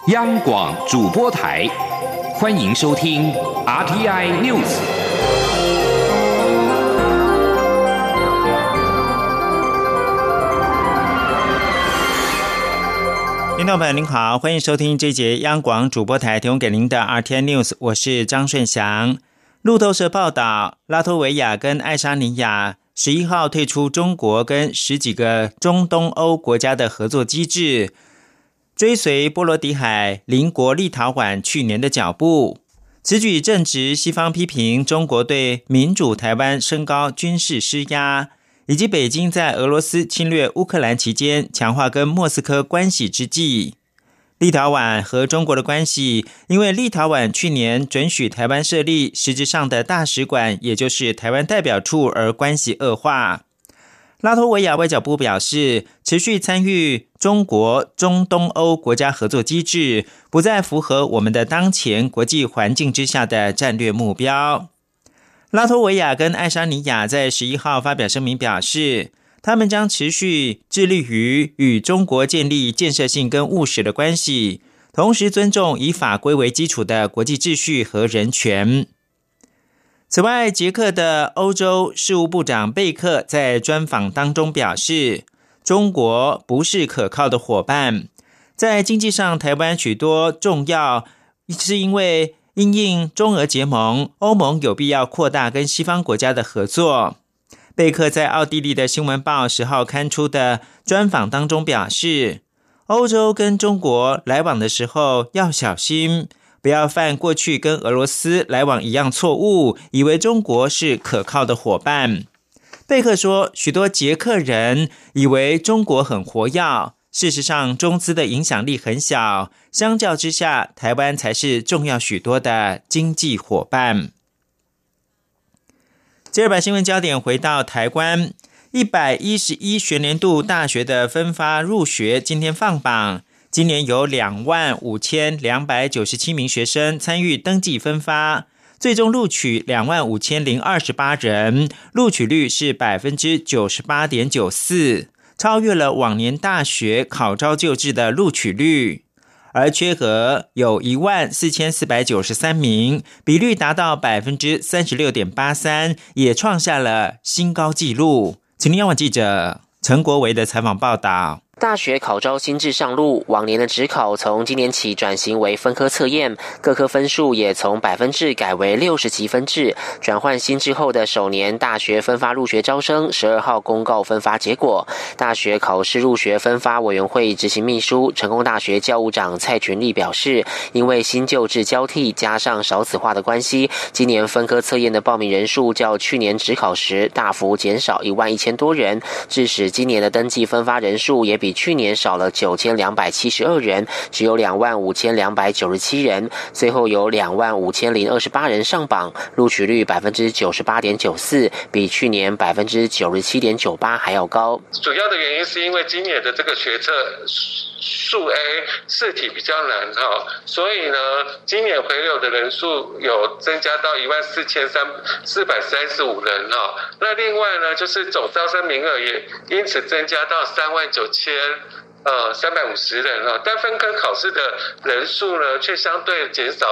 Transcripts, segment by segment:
央广主播台，欢迎收听 RTI News。 听众朋友您好，欢迎收听这节央广主播台提供给您的 RTI News， 我是张顺祥。路透社报道，拉脱维亚跟爱沙尼亚11号退出中国跟10几个中东欧国家的合作机制，追随波罗的海邻国立陶宛去年的脚步。此举正值西方批评中国对民主台湾升高军事施压，以及北京在俄罗斯侵略乌克兰期间强化跟莫斯科关系之际。立陶宛和中国的关系，因为立陶宛去年准许台湾设立实质上的大使馆，也就是台湾代表处，而关系恶化。拉脱维亚外交部表示，持续参与中国中东欧国家合作机制，不再符合我们的当前国际环境之下的战略目标。拉脱维亚跟爱沙尼亚在11号发表声明表示，他们将持续致力于与中国建立建设性跟务实的关系，同时尊重以法规为基础的国际秩序和人权。此外，捷克的欧洲事务部长贝克在专访当中表示，中国不是可靠的伙伴，在经济上台湾许多重要，是因为因应中俄结盟，欧盟有必要扩大跟西方国家的合作。贝克在奥地利的新闻报10号刊出的专访当中表示，欧洲跟中国来往的时候要小心，不要犯过去跟俄罗斯来往一样错误，以为中国是可靠的伙伴。贝克说，许多捷克人以为中国很活跃，事实上中资的影响力很小，相较之下，台湾才是重要许多的经济伙伴。第二版新闻焦点回到台湾，111学年度大学的分发入学今天放榜，今年有25,297名学生参与登记分发，最终录取25,028人，录取率是 98.94%， 超越了往年大学考招就制的录取率。而缺额有14,493名，比率达到 36.83%， 也创下了新高纪录。请听央广记者陈国维的采访报道。 大学考招新制上路，往年的指考从今年起转型为分科测验，各科分数也从百分制改为60级分制。转换新制后的首年大学分发入学招生12号公告分发结果。大学考试入学分发委员会执行秘书、成功大学教务长蔡群力表示，因为新旧制交替加上少子化的关系，今年分科测验的报名人数较去年指考时大幅减少11000多人，致使今年的登记分发人数也比去年少了9272人，只有25297人，最后有25028人上榜，录取率 98.94%， 比去年 97.98% 还要高。 主要的原因是因为今年的这个学测数 A 试题比较难所以呢，今年回流的人数有增加到1435人那另外呢，就是总招生名额也因此增加到39350人但分科考试的人数呢，却相对减少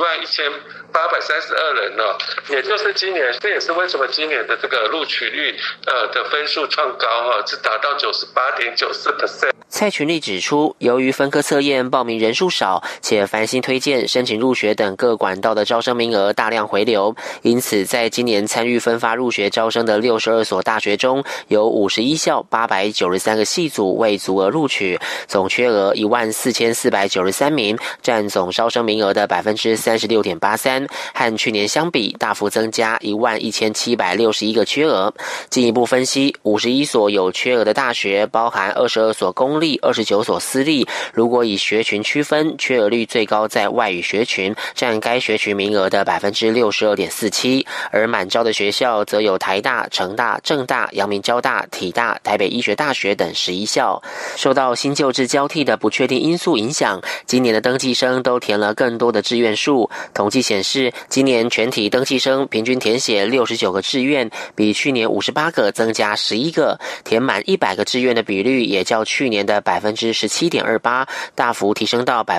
11832人也就是今年，这也是为什么今年的这个录取率的分数创高是达到 98.94%。 蔡群力指出，由于分科测验报名人数少，且繁星推荐、申请入学等各管道的招生名额大量回流，因此在今年参与分发入学招生的62所大学中，有51校893个系组未足额录取，总缺额14493名，占总招生名额的 36.83%， 和去年相比大幅增加11761个缺额。进一步分析，51所有缺额的大学包含22所公立、29所私立，如果以学群区分，缺额率最高在外语学群，占该学群名额的 62.47%， 而满招的学校则有台大、成大、政大、阳明交大、体大、台北医学大学等11校。受到新旧制交替的不确定因素影响，今年的登记生都填了更多的志愿数。统计显示示，今年全体登记生平均填写69个志愿，比去年58个增加11个，填满100个志愿的比率也较去年的 17.28% 大幅提升到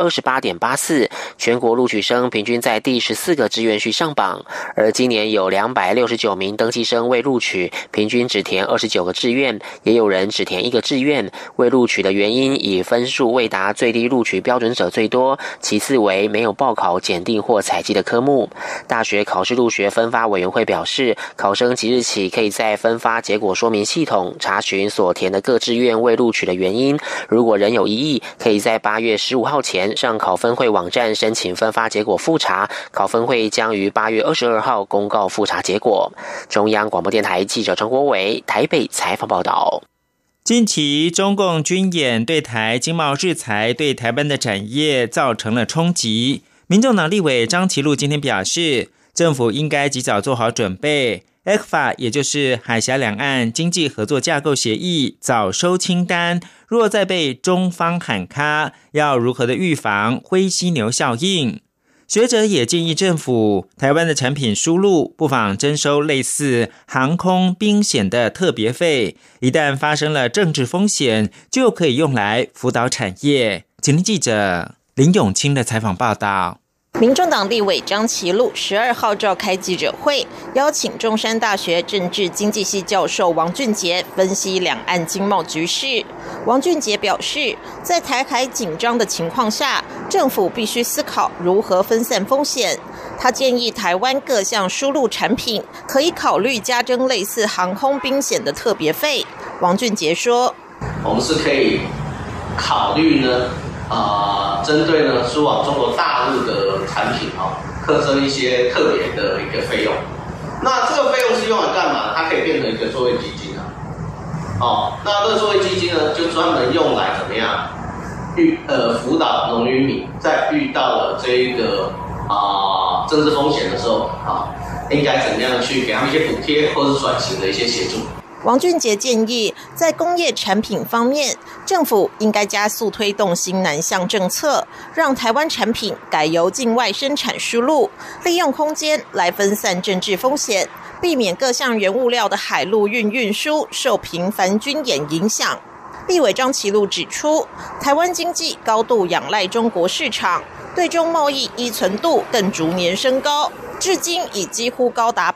28.84%， 全国录取生平均在第14个志愿序上榜。而今年有269名登记生未录取，平均只填29个志愿，也有人只填1个志愿。未录取的原因以分数未达最低录取标准者最多，其次为没有报考检定或采集的科目。大学考试入学分发委员会表示，考生即日起可以在分发结果说明系统查询所填的各志愿未录取的原因，如果仍有异议，可以在8月15号前上考分会网站申请分发结果复查，考分会将于8月22号公告复查结果。中央广播电台记者张国伟台北采访报道。 近期中共军演对台经贸制裁对台湾的产业造成了冲击，民众党立委张其祺今天表示，政府应该及早做好准备， ECFA 也就是海峡两岸经济合作架构协议早收清单，若再被中方喊卡，要如何的预防灰犀牛效应。学者也建议政府，台湾的产品输入不妨征收类似航空兵险的特别费，一旦发生了政治风险，就可以用来辅导产业。今天记者林永清的采访报道。 民众党立委张其祺12号召开记者会，邀请中山大学政治经济系教授王俊杰分析两岸经贸局势。王俊杰表示，在台海紧张的情况下，政府必须思考如何分散风险。他建议台湾各项输入产品可以考虑加征类似航空兵险的特别费。王俊杰说， 我们是可以考虑呢针对呢输往中国大陆的产品课征一些特别的一个费用。那这个费用是用来干嘛？它可以变成一个作业基金那这个作业基金呢，就专门用来怎么样辅导农渔民在遇到了这一个政治风险的时候应该怎么样去给他们一些补贴或是转型的一些协助。 王俊杰建议，在工业产品方面，政府应该加速推动新南向政策，让台湾产品改由境外生产输入，利用空间来分散政治风险，避免各项原物料的海陆运输受频繁军演影响。立委张其祺指出，台湾经济高度仰赖中国市场，对中贸易依存度更逐年升高，至今已几乎高达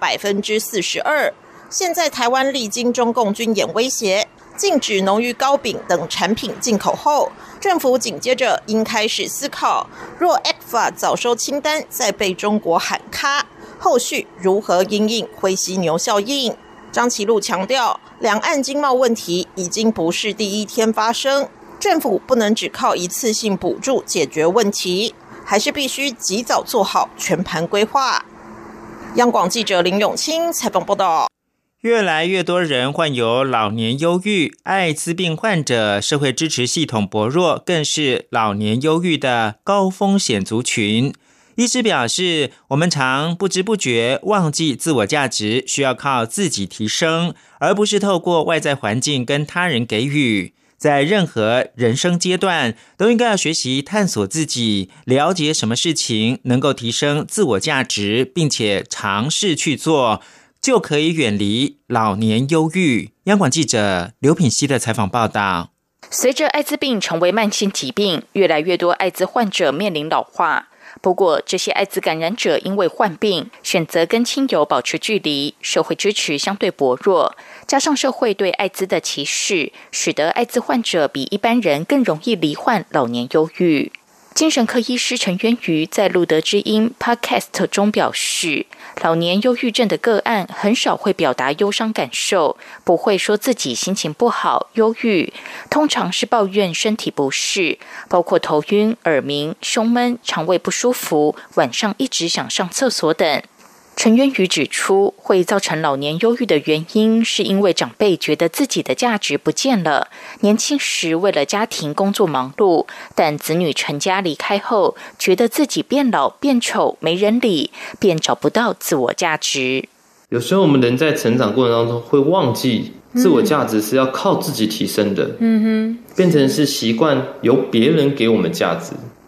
42%。现在台湾历经中共军演威胁，禁止农渔糕饼等产品进口后，政府紧接着应开始思考，若 ECFA 早收清单再被中国喊卡，后续如何因应灰犀牛效应。张其祺强调，两岸经贸问题已经不是第一天发生，政府不能只靠一次性补助解决问题，还是必须及早做好全盘规划。央广记者林永清采访报道。 越来越多人患有老年忧郁，艾滋病患者社会支持系统薄弱，更是老年忧郁的高风险族群。医师表示，我们常不知不觉忘记自我价值需要靠自己提升，而不是透过外在环境跟他人给予。在任何人生阶段，都应该要学习探索自己，了解什么事情能够提升自我价值，并且尝试去做，就可以远离老年忧郁。央广记者刘品希的采访报道。 随着艾滋病成为慢性疾病，越来越多艾滋患者面临老化。不过，这些艾滋感染者因为患病，选择跟亲友保持距离，社会支持相对薄弱，加上社会对艾滋的歧视，使得艾滋患者比一般人更容易罹患老年忧郁。精神科医师陈渊瑜在路德之音 Podcast 中表示，老年忧郁症的个案很少会表达忧伤感受，不会说自己心情不好、忧郁，通常是抱怨身体不适，包括头晕、耳鸣、胸闷、肠胃不舒服、晚上一直想上厕所等。陈渊瑜指出，会造成老年忧郁的原因是因为长辈觉得自己的价值不见了，年轻时为了家庭工作忙碌，但子女成家离开后，觉得自己变老变丑没人理，便找不到自我价值。 有时候我们人在成长过程当中会忘记自我价值是要靠自己提升的，变成是习惯由别人给我们价值。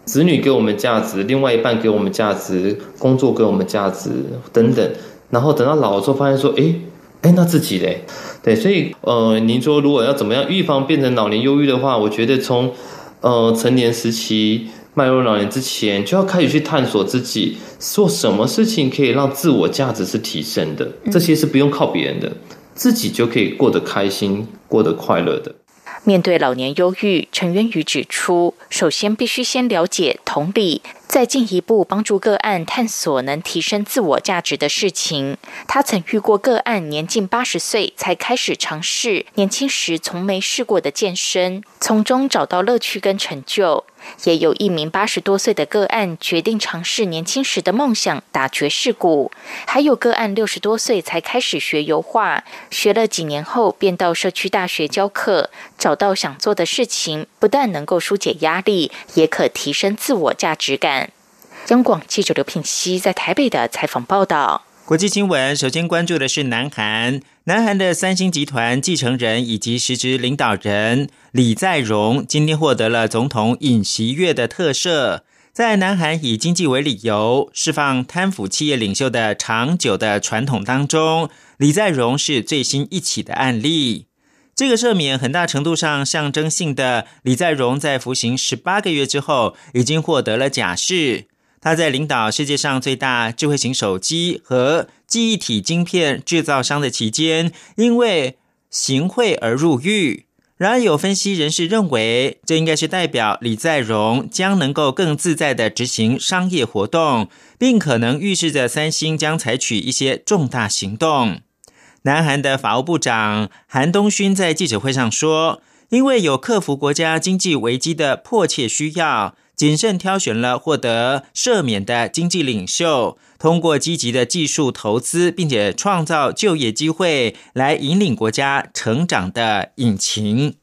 子女给我们价值，另外一半给我们价值，工作给我们价值等等，然后等到老了之后发现说，那自己嘞？对，所以您说如果要怎么样预防变成老年忧郁的话，我觉得从成年时期迈入老年之前，就要开始去探索自己做什么事情可以让自我价值是提升的，这些是不用靠别人的，自己就可以过得开心，过得快乐的。 面对老年忧郁，陈渊宇指出，首先必须先了解同理，再进一步帮助个案探索能提升自我价值的事情。他曾遇过个案年近80岁才开始尝试年轻时从没试过的健身，从中找到乐趣跟成就。也有一名80多岁的个案决定尝试年轻时的梦想打爵士鼓，还有个案60多岁才开始学油画，学了几年后便到社区大学教课，找到想做的事情，不但能够疏解压力，也可提升自我价值感。央广记者刘聘熙在台北的采访报道。 国际新闻首先关注的是南韩的三星集团继承人以及实职领导人李在镕今天获得了总统尹锡悦的特赦，在南韩以经济为理由释放贪腐企业领袖的长久的传统当中，李在镕是最新一起的案例。这个赦免很大程度上象征性的，李在镕在服刑18个月之后已经获得了假释。他在领导世界上最大智慧型手机和记忆体晶片制造商的期间，因为行贿而入狱。然而有分析人士认为，这应该是代表李在镕将能够更自在地执行商业活动，并可能预示着三星将采取一些重大行动。南韩的法务部长韩东勋在记者会上说，因为有克服国家经济危机的迫切需要，谨慎挑选了获得赦免的经济领袖，通过积极的技术投资并且创造就业机会来引领国家成长的引擎。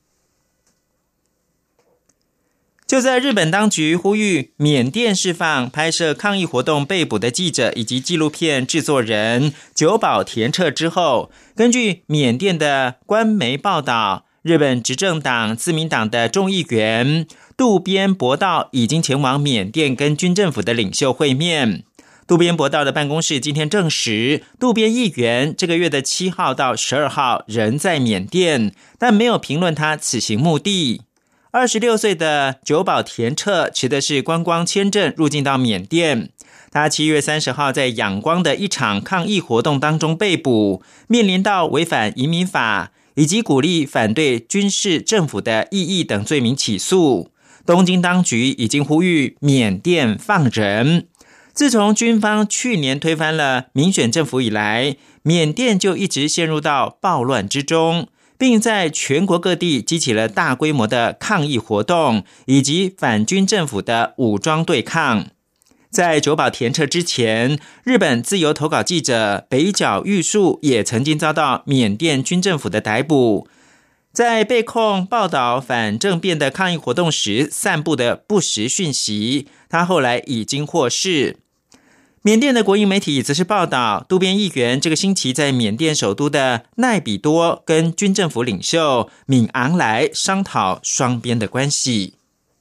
就在日本当局呼吁缅甸释放拍摄抗议活动被捕的记者以及纪录片制作人久保田彻之后，根据缅甸的官媒报道，日本执政党自民党的众议员渡边博道已经前往缅甸跟军政府的领袖会面。渡边博道的办公室今天证实，渡边议员这个月的7号到12号仍在缅甸，但没有评论他此行目的。26岁的久保田彻持的是观光签证入境到缅甸，他7月30号在仰光的一场抗议活动当中被捕，面临到违反移民法以及鼓励反对军事政府的异议等罪名起诉。东京当局已经呼吁缅甸放人。自从军方去年推翻了民选政府以来，缅甸就一直陷入到暴乱之中，并在全国各地激起了大规模的抗议活动以及反军政府的武装对抗。在久保田彻之前，日本自由投稿记者北角玉树也曾经遭到缅甸军政府的逮捕，在被控报道反政变的抗议活动时散布的不实讯息，他后来已经获释。缅甸的国营媒体则是报道，渡边议员这个星期在缅甸首都的奈比多跟军政府领袖敏昂莱商讨双边的关系。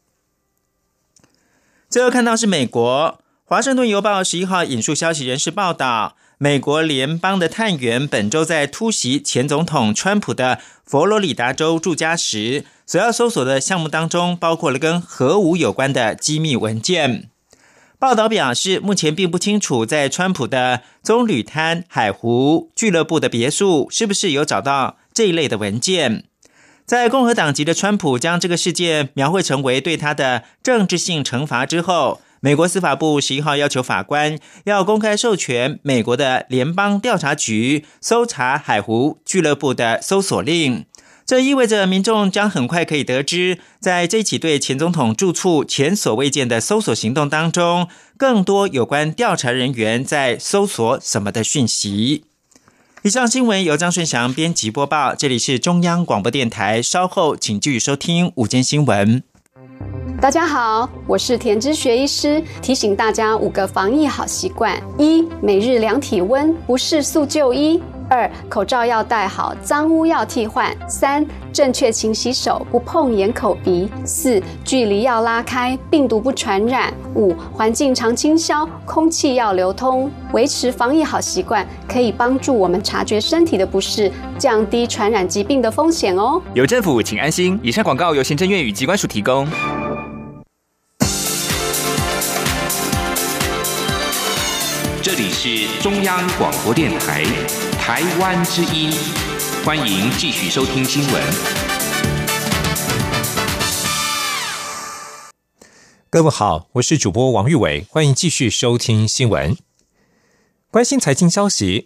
最后看到是美国华盛顿邮报11号引述消息人士报道，美国联邦的探员本周在突袭前总统川普的佛罗里达州住家时，所要搜索的项目当中包括了跟核武有关的机密文件。报道表示，目前并不清楚在川普的棕榈滩海湖俱乐部的别墅是不是有找到这一类的文件。在共和党籍的川普将这个事件描绘成为对他的政治性惩罚之后，美国司法部11号要求法官要公开授权美国的联邦调查局搜查海湖俱乐部的搜索令。这意味着民众将很快可以得知，在这起对前总统住处前所未见的搜索行动当中，更多有关调查人员在搜索什么的讯息。以上新闻由张顺祥编辑播报，这里是中央广播电台，稍后请继续收听午间新闻。 大家好，我是田之学医师，提醒大家5个防疫好习惯： 1. 每日量体温，不适速就医； 2. 口罩要戴好，脏污要替换； 3. 正确勤洗手，不碰眼口鼻。4. 距离要拉开，病毒不传染。5. 环境常清消，空气要流通。维持防疫好习惯，可以帮助我们察觉身体的不适，降低传染疾病的风险哦。 有政府，请安心。以上广告由行政院与疾管署提供。 这里是中央广播电台台湾之音，欢迎继续收听新闻。 各位好，我是主播王玉伟，欢迎继续收听新闻。关心财经消息，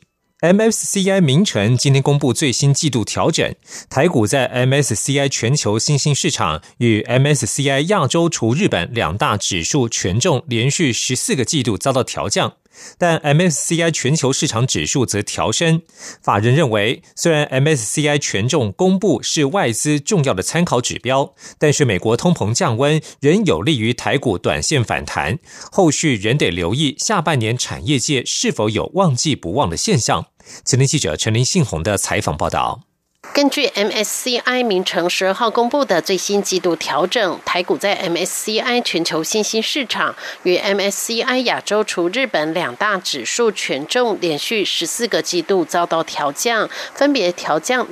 MSCI 名城今天公布最新季度调整，台股在 MSCI 全球新兴市场与 MSCI 亚洲除日本两大指数权重连续14个季度遭到调降，但 MSCI 全球市场指数则调升。法人认为，虽然 MSCI 权重公布是外资重要的参考指标，但是美国通膨降温仍有利于台股短线反弹，后续仍得留意下半年产业界是否有旺季不旺的现象。前天记者陈林信宏的采访报道。 根据 MSCI 名城12号公布的最新季度调整，台股在 MSCI 全球新兴市场与 MSCI 亚洲除日本两大指数权重连续14个季度遭到调降，分别调降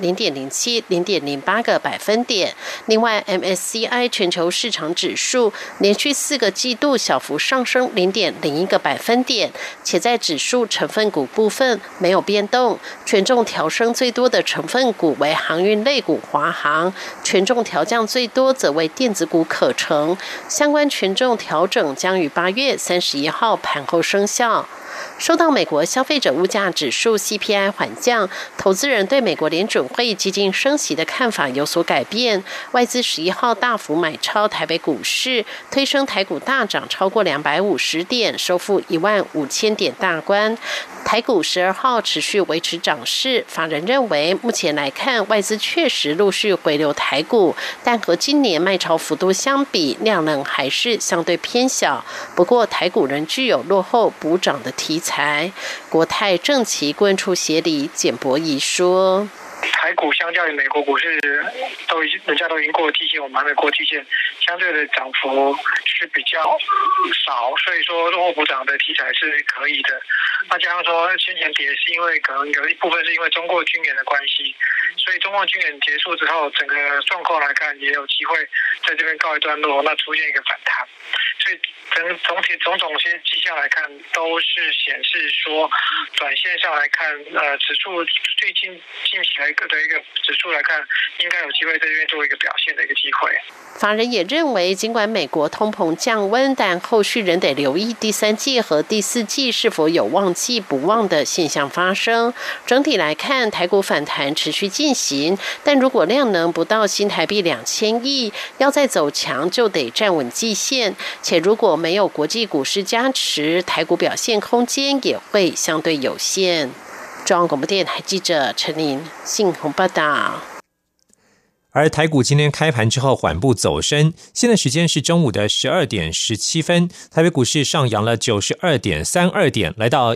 0.07、0.08 个百分点。另外 MSCI 全球市场指数连续4个季度小幅上升 0.01 个百分点，且在指数成分股部分没有变动，权重调升最多的成分股为航运类股华航，权重调降最多则为电子股可成，相关权重调整将于8月31号盘后生效。受到美国消费者物价指数 CPI 缓降，投资人对美国联准会激进升息的看法有所改变，外资11号大幅买超台北股市，推升台股大涨超过250点，收复15000点大关。台股12号持续维持涨势，法人认为目前来看，外资确实陆续回流台股，但和今年卖超幅度相比，量能还是相对偏小。不过台股仍具有落后补涨的题材。国泰正奇顾问处协理简博仪说， 台股相较于美国股市人家都已经过了季线，我们还没过季线，相对的涨幅是比较少，所以说落后补涨的题材是可以的。那加上说先前跌是因为可能有一部分是因为中共军演的关系，所以中共军演结束之后，整个状况来看也有机会在这边告一段落，那出现一个反弹。所以种种些迹象来看，都是显示说，短线上来看，指数最近期来的一个指数来看，应该有机会在这边做一个表现的一个机会。 法人也认为，尽管美国通膨降温，但后续仍得留意第3季和第4季是否有旺季不旺的现象发生。整体来看，台股反弹持续进行，但如果量能不到新台币2000亿，要再走强就得站稳季线，且如果没有国际股市加持，台股表现空间也会相对有限。中央广播电台记者陈琳信宏报道。 而台股今天开盘之后缓步走升，现在时间是中午的12点17分，台北股市上扬了 92.32 点，来到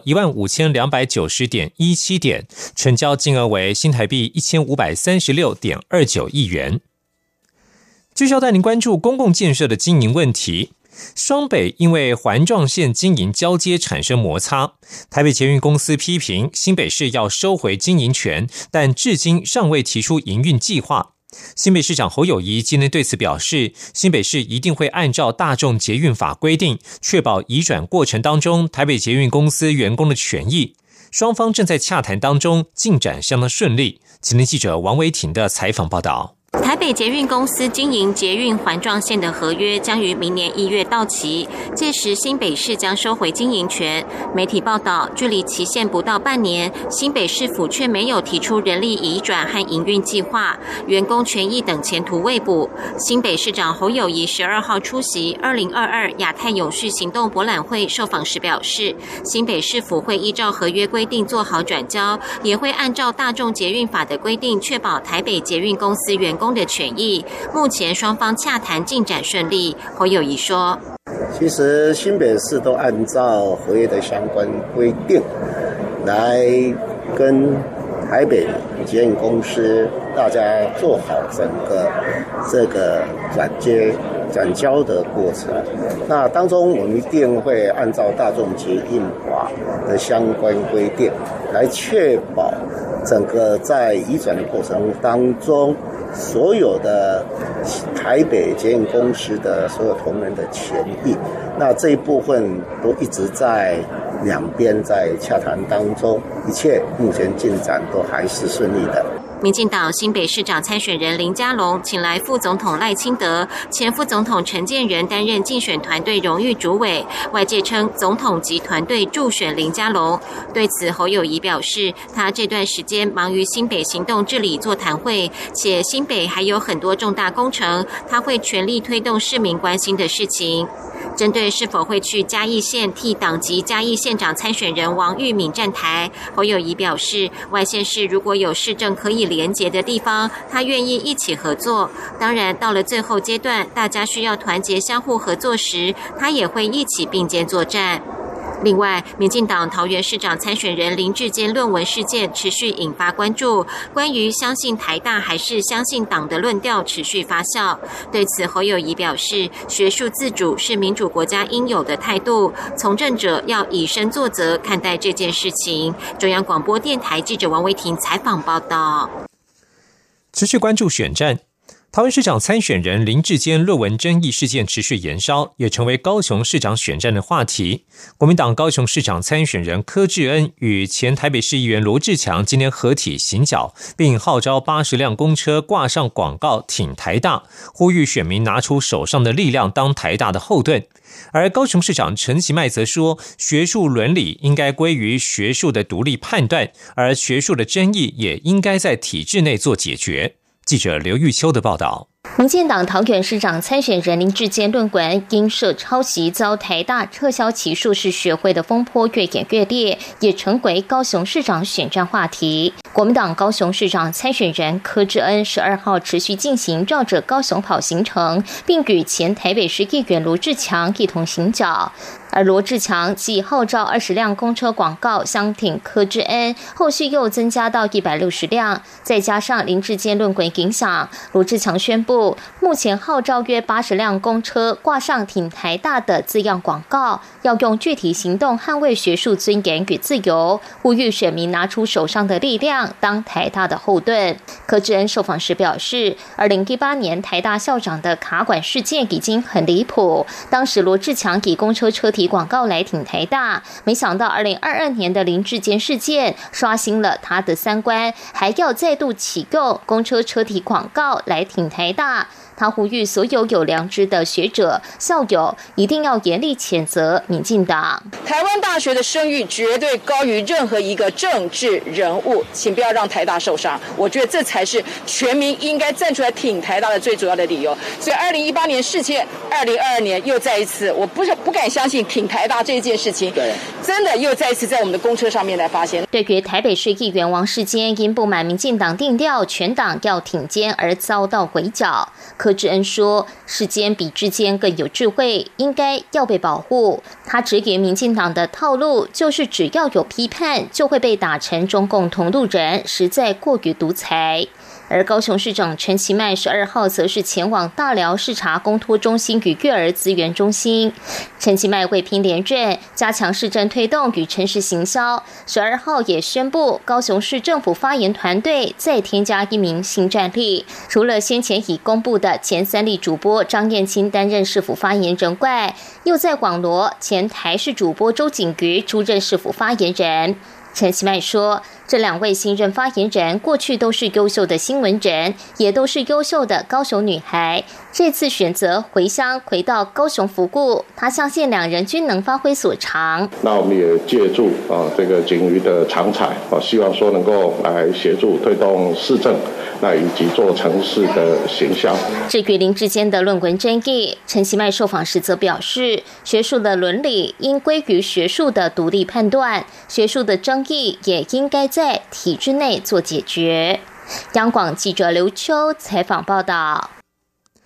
15,290.17 点，成交金额为新台币 1,536.29 亿元。继续要带您关注公共建设的经营问题。双北因为环状线经营交接产生摩擦，台北捷运公司批评新北市要收回经营权，但至今尚未提出营运计划。新北市长侯友宜今天对此表示，新北市一定会按照大众捷运法规定，确保移转过程当中台北捷运公司员工的权益。双方正在洽谈当中，进展相当顺利。前天记者王维婷的采访报道。 台北捷运公司经营捷运环状线的合约将于明年1月到期，届时新北市将收回经营权。媒体报道，距离期限不到半年，新北市府却没有提出人力移转和营运计划，员工权益等前途未卜。新北市长侯友宜12号出席2022亚太永续行动博览会受访时表示，新北市府会依照合约规定做好转交，也会按照大众捷运法的规定，确保台北捷运公司员工的权益。目前双方洽谈进展顺利。侯友宜说， 其实新北市都按照合约的相关规定来跟台北捷运公司大家做好整个这个转交的过程。那当中我们一定会按照大众捷运法的相关规定来确保整个在移转的过程当中，所有的台北捷运公司的所有同仁的权益，那这一部分都一直在两边在洽谈当中，一切目前进展都还是顺利的。 民进党新北市长参选人林佳龙请来副总统赖清德、前副总统陈建仁担任竞选团队荣誉主委，外界称总统及团队助选林佳龙。对此，侯友宜表示，他这段时间忙于新北行动治理座谈会，且新北还有很多重大工程，他会全力推动市民关心的事情。针对是否会去嘉义县替党籍嘉义县长参选人王玉敏站台，侯友宜表示，外县市如果有市政可以连结的地方，他愿意一起合作。当然，到了最后阶段，大家需要团结相互合作时，他也会一起并肩作战。另外，民进党桃园市长参选人林智坚论文事件持续引发关注，关于相信台大还是相信党的论调持续发酵。对此，侯友宜表示，学术自主是民主国家应有的态度，从政者要以身作则看待这件事情。中央广播电台记者王维婷采访报道。 持续关注选战。桃园市长参选人林智坚论文争议事件持续延烧，也成为高雄市长选战的话题。国民党高雄市长参选人柯志恩与前台北市议员罗志强今天合体行脚，并号召80辆公车挂上广告挺台大，呼吁选民拿出手上的力量当台大的后盾。而高雄市长陈其迈则说，学术伦理应该归于学术的独立判断，而学术的争议也应该在体制内做解决。记者刘玉秋的报道。 民进党桃园市长参选人林智坚论文因涉抄袭遭台大撤销其硕士学位的风波越演越烈，也成为高雄市长选战话题。国民党高雄市长参选人柯志恩12号持续进行绕着高雄跑行程，并与前台北市议员罗志强一同行脚。而罗志强继号召20辆公车广告相挺柯志恩，后续又增加到160辆，再加上林智坚论文影响，罗志强宣布，目前号召约80辆公车挂上挺台大的字样广告，要用具体行动捍卫学术尊严与自由，呼吁选民拿出手上的力量当台大的后盾。柯志恩受访时表示，2018年台大校长的卡管事件已经很离谱，当时罗志强以公车车体广告来挺台大，没想到2022年的林智坚事件刷新了他的三观，还要再度启用公车车体广告来挺台大。他呼吁所有有良知的学者、校友一定要严厉谴责民进党。 台湾大学的声誉绝对高于任何一个政治人物，请不要让台大受伤。我觉得这才是全民应该站出来挺台大的最主要的理由。所以2018年事件，2022年又再一次，我不敢相信挺台大这件事情，真的又再一次在我们的公车上面来发现。 对于台北市议员王世坚因不满民进党定调全党要挺监而遭到围剿，柯志恩说，世坚比之坚更有智慧，应该要被保护。他质疑民进党的套路就是只要有批判就会被打成中共同路人，实在过于独裁。而高雄市长陈其迈12号则是前往大寮视察公托中心与育儿资源中心。陈其迈为拼连任，加强市政推动与城市行销，12号也宣布高雄市政府发言团队再添加1名新战力，除了先前已公布的前3立主播张燕青担任市府发言人外，又在网罗前台视主播周景瑜出任市府发言人。陈其迈说，这2位新任发言人过去都是优秀的新闻人，也都是优秀的高雄女孩，这次选择回乡回到高雄服务，他相信2人均能发挥所长。 那我们也借助这个景瑜的长才，希望说能够来协助推动市政，那以及做城市的行销。 至于林智坚的论文争议，陈其迈受访时则表示，学术的伦理应归于学术的独立判断，学术的争议也应该在体制内做解决。央广记者刘秋采访报道。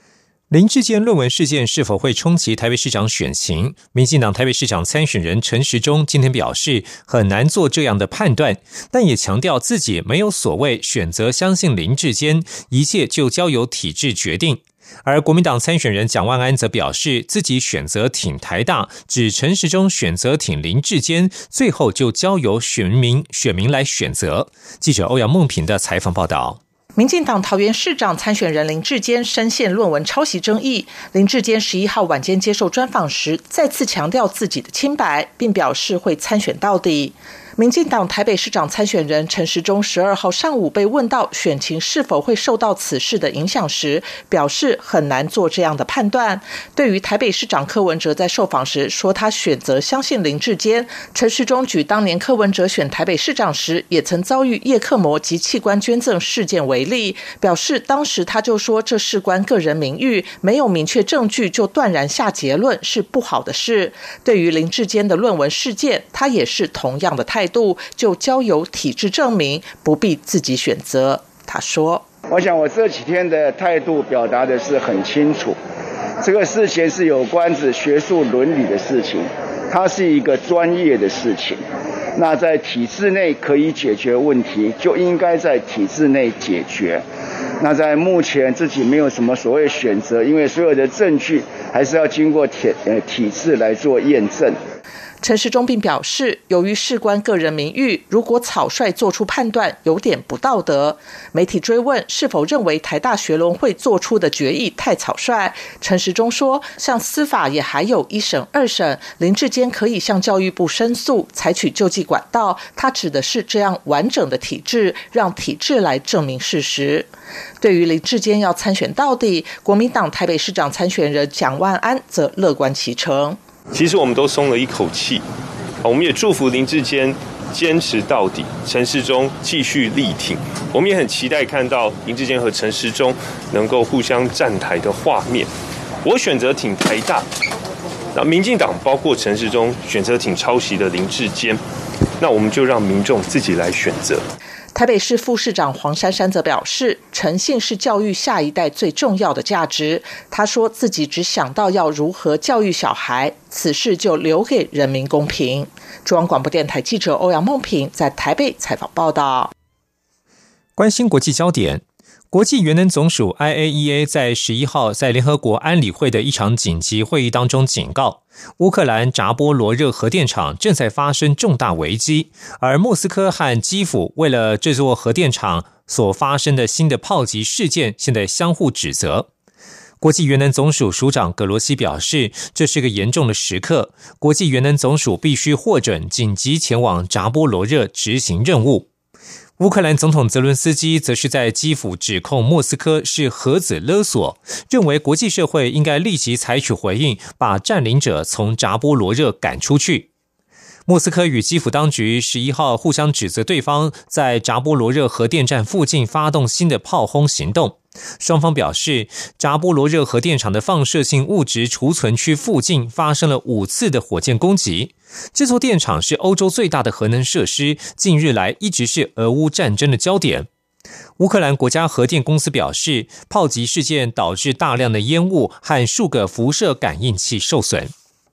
林智坚论文事件是否会冲击台北市长选情？民进党台北市长参选人陈时中今天表示，很难做这样的判断，但也强调自己没有所谓选择相信林智坚，一切就交由体制决定。而国民党参选人蒋万安则表示，自己选择挺台大，指陈时中选择挺林智坚，最后就交由选民来选择。记者欧阳梦平的采访报道。 民进党桃园市长参选人林智坚深陷论文抄袭争议。林智坚11号晚间接受专访时，再次强调自己的清白，并表示会参选到底。民进党台北市长参选人陈时中12号上午被问到选情是否会受到此事的影响时，表示很难做这样的判断。对于台北市长柯文哲在受访时说他选择相信林智坚，陈时中举当年柯文哲选台北市长时也曾遭遇叶克膜及器官捐赠事件为例，表示当时他就说这事关个人名誉，没有明确证据就断然下结论是不好的事。对于林智坚的论文事件，他也是同样的态度，就交由体制证明，不必自己选择。他说， 我想我这几天的态度表达的是很清楚，这个事情是有关子学术伦理的事情，它是一个专业的事情，那在体制内可以解决问题，就应该在体制内解决。那在目前自己没有什么所谓选择，因为所有的证据还是要经过体制来做验证。 陈时中并表示，由于事关个人名誉，如果草率做出判断有点不道德。媒体追问是否认为台大学伦会做出的决议太草率，陈时中说，像司法也还有一审二审，林智坚可以向教育部申诉，采取救济管道，他指的是这样完整的体制，让体制来证明事实。对于林智坚要参选到底，国民党台北市长参选人蒋万安则乐观其成。 其实我们都松了一口气，我们也祝福林智坚坚持到底，陈时中继续力挺。我们也很期待看到林智坚和陈时中能够互相站台的画面。我选择挺台大，那民进党包括陈时中选择挺抄袭的林智坚，那我们就让民众自己来选择。 台北市副市长黄珊珊则表示，诚信是教育下一代最重要的价值。他说自己只想到要如何教育小孩，此事就留给人民公平。中央广播电台记者欧阳梦平在台北采访报道。 关心国际焦点，国际原能总署 IAEA 在11号在联合国安理会的一场紧急会议当中警告，乌克兰扎波罗热核电厂正在发生重大危机，而莫斯科和基辅为了这座核电厂所发生的新的炮击事件，现在相互指责。国际原能总署署长葛罗西表示，这是个严重的时刻，国际原能总署必须获准紧急前往扎波罗热执行任务。乌克兰总统泽伦斯基则是在基辅指控莫斯科是核子勒索，认为国际社会应该立即采取回应，把占领者从扎波罗热赶出去。莫斯科与基辅当局11号互相指责对方在扎波罗热核电站附近发动新的炮轰行动。双方表示，扎波罗热核电厂的放射性物质储存区附近发生了5次的火箭攻击。这座电厂是欧洲最大的核能设施，近日来一直是俄乌战争的焦点。乌克兰国家核电公司表示，炮击事件导致大量的烟雾和数个辐射感应器受损。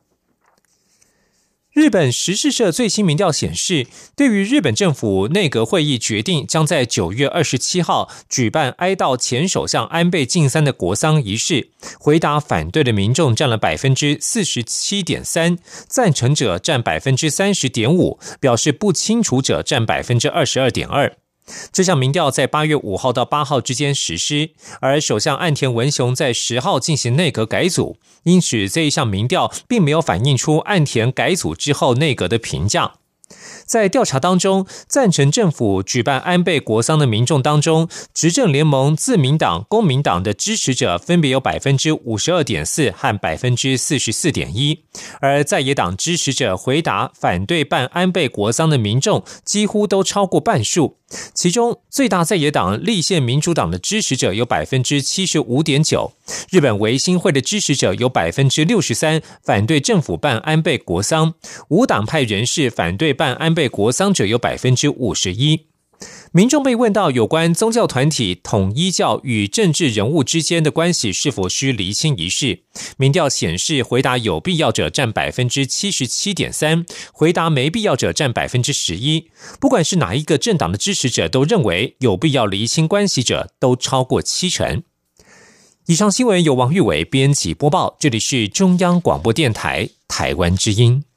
日本时事社最新民调显示，对于日本政府内阁会议决定将在9月27号举办哀悼前首相安倍晋三的国丧仪式，回答反对的民众占了 47.3%， 赞成者占 30.5%， 表示不清楚者占 22.2%。这项民调在8月5号到8号之间实施，而首相岸田文雄在10号进行内阁改组，因此这一项民调并没有反映出岸田改组之后内阁的评价。在调查当中，赞成政府举办安倍国丧的民众当中，执政联盟自民党、公民党的支持者分别有 52.4% 和 44.1%， 而在野党支持者回答反对办安倍国丧的民众几乎都超过半数。其中最大在野党立宪民主党的支持者有 75.9%， 日本维新会的支持者有 63% 反对政府办安倍国丧，无党派人士反对办安倍国丧者有 51%。 民众被问到有关宗教团体统一教与政治人物之间的关系是否需厘清一事，民调显示回答有必要者占 77.3%， 回答没必要者占 11%。 不管是哪一个政党的支持者都认为有必要厘清关系者都超过70%。以上新闻由王玉伟编辑播报，这里是中央广播电台台湾之音。